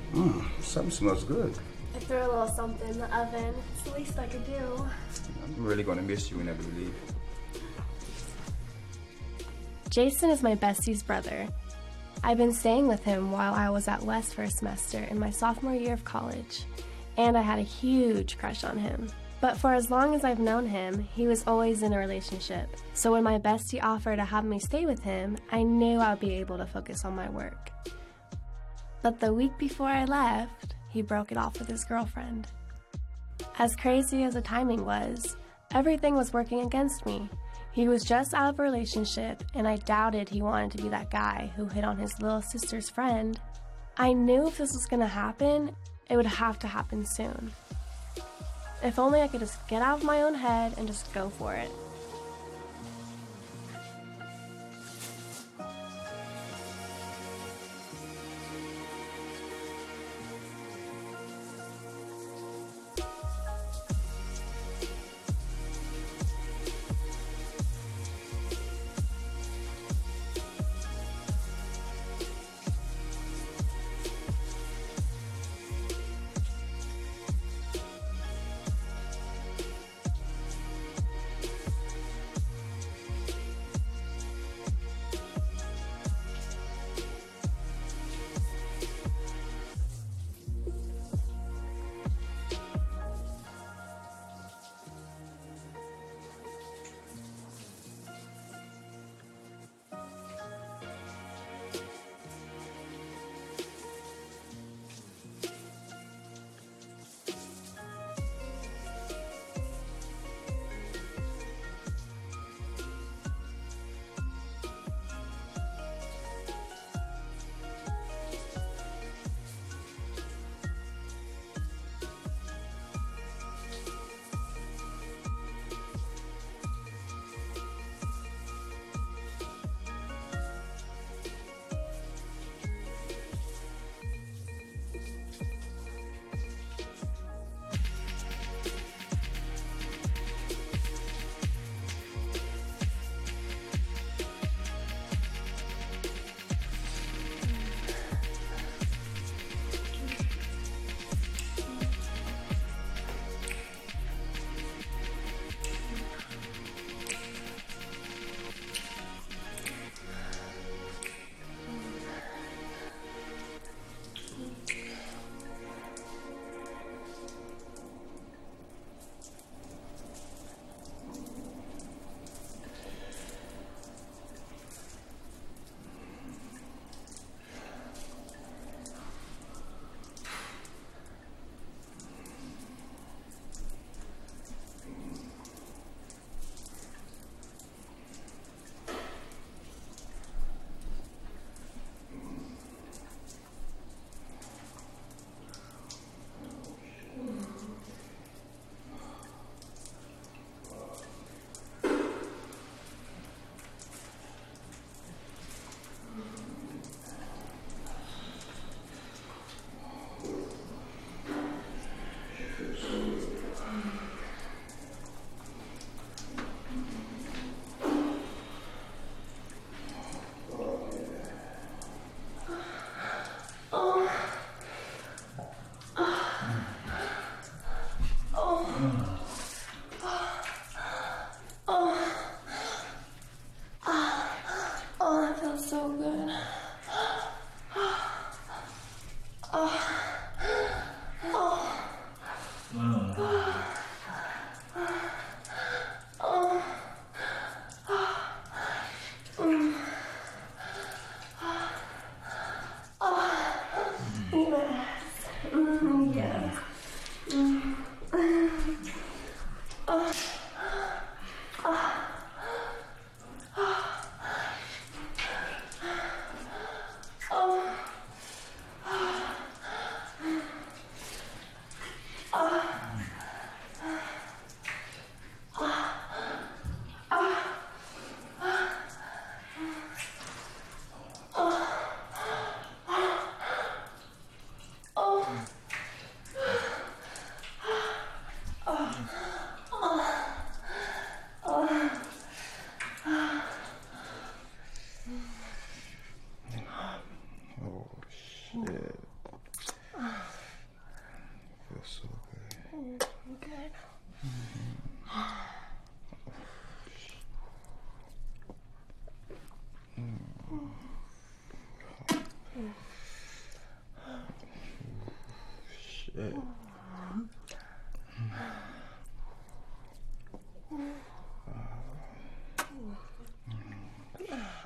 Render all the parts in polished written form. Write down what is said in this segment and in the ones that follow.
Something smells good. I threw a little something in the oven. It's the least I could do. I'm really gonna miss you whenever you leave. Jason is my bestie's brother. I've been staying with him while I was at West for a semester in my sophomore year of college, and I had a huge crush on him. But for as long as I've known him, he was always in a relationship. So when my bestie offered to have me stay with him, I knew I would be able to focus on my work. But the week before I left, he broke it off with his girlfriend. As crazy as the timing was, everything was working against me. He was just out of a relationship, and I doubted he wanted to be that guy who hit on his little sister's friend. I knew if this was gonna happen, it would have to happen soon. If only I could just get out of my own head and just go for it.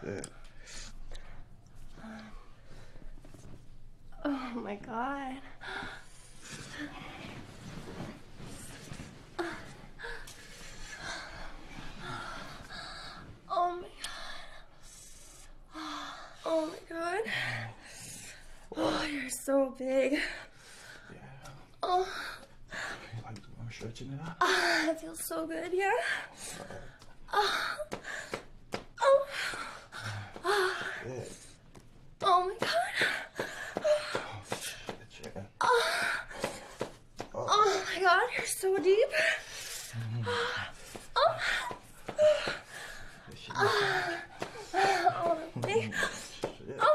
Shit. Oh my god. Oh my god. Oh my god. Oh, you're so big. Yeah. Oh, Like, I'm stretching it out. it feels so good, yeah. Oh. Oh. Yeah. Oh my god. Shit, yeah. Oh my god, you're so deep. Oh. Shit. Oh, okay. Shit. Oh.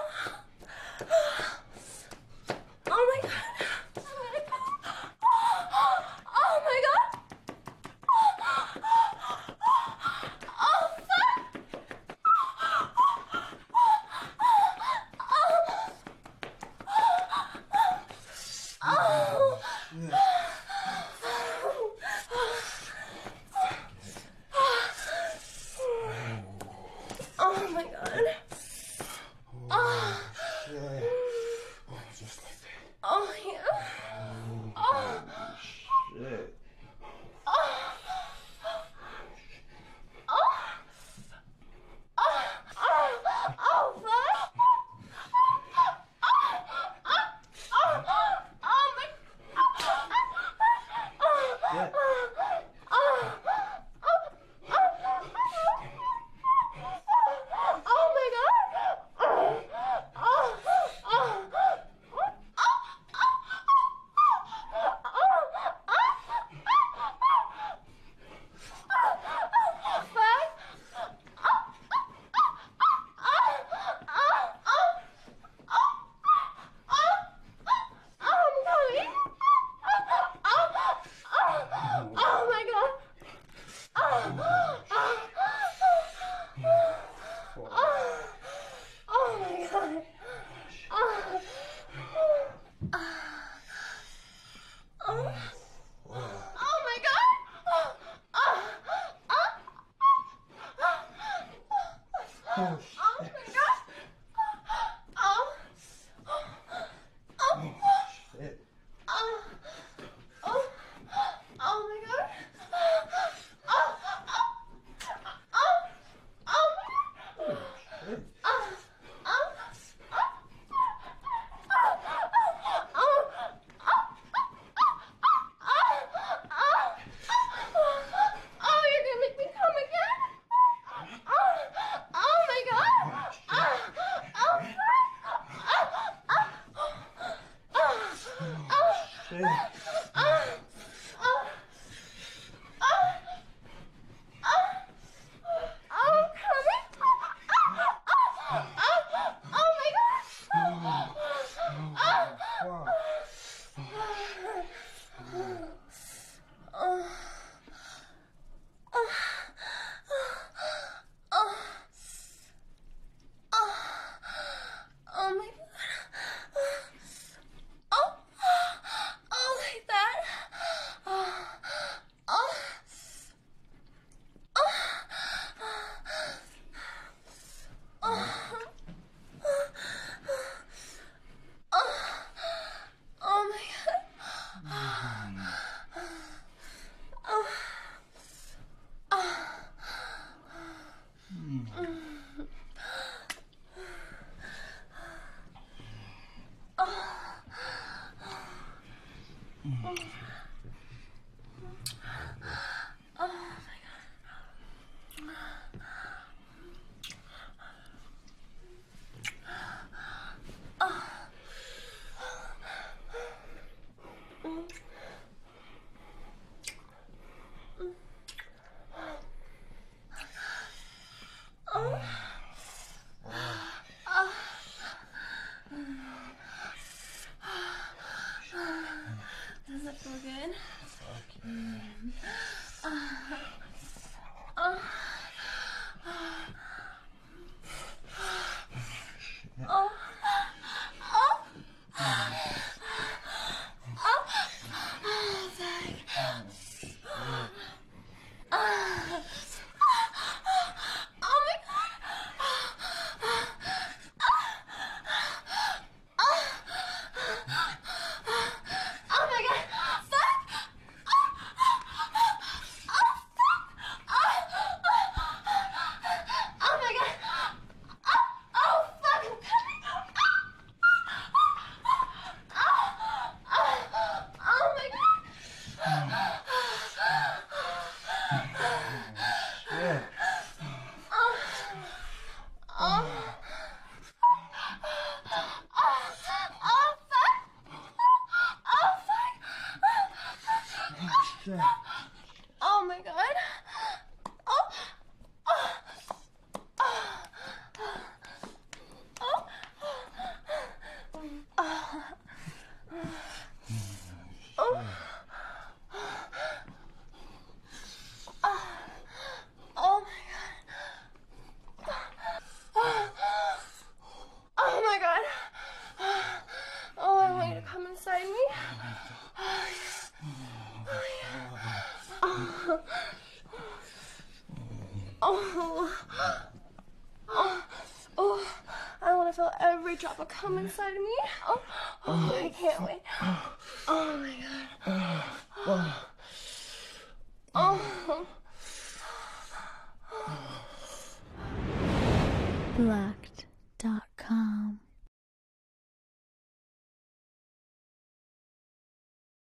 Oh my god. Oh my god. Oh fuck. Oh. Oh my god. Oh. Shit. Oh, just like that. Oh yeah. Oh. Shit. Oh fuck. Yeah. Oh my god! Oh my god! Oh my god! Oh my god! Oh, Oh shit. my god! Oh! Oh, shit. Oh! Oh! Oh my god! Oh! Shit. Oh, you're gonna make me come again? Oh my god! I want to feel every drop of cum inside of me. I can't wait. Oh my god. Locked.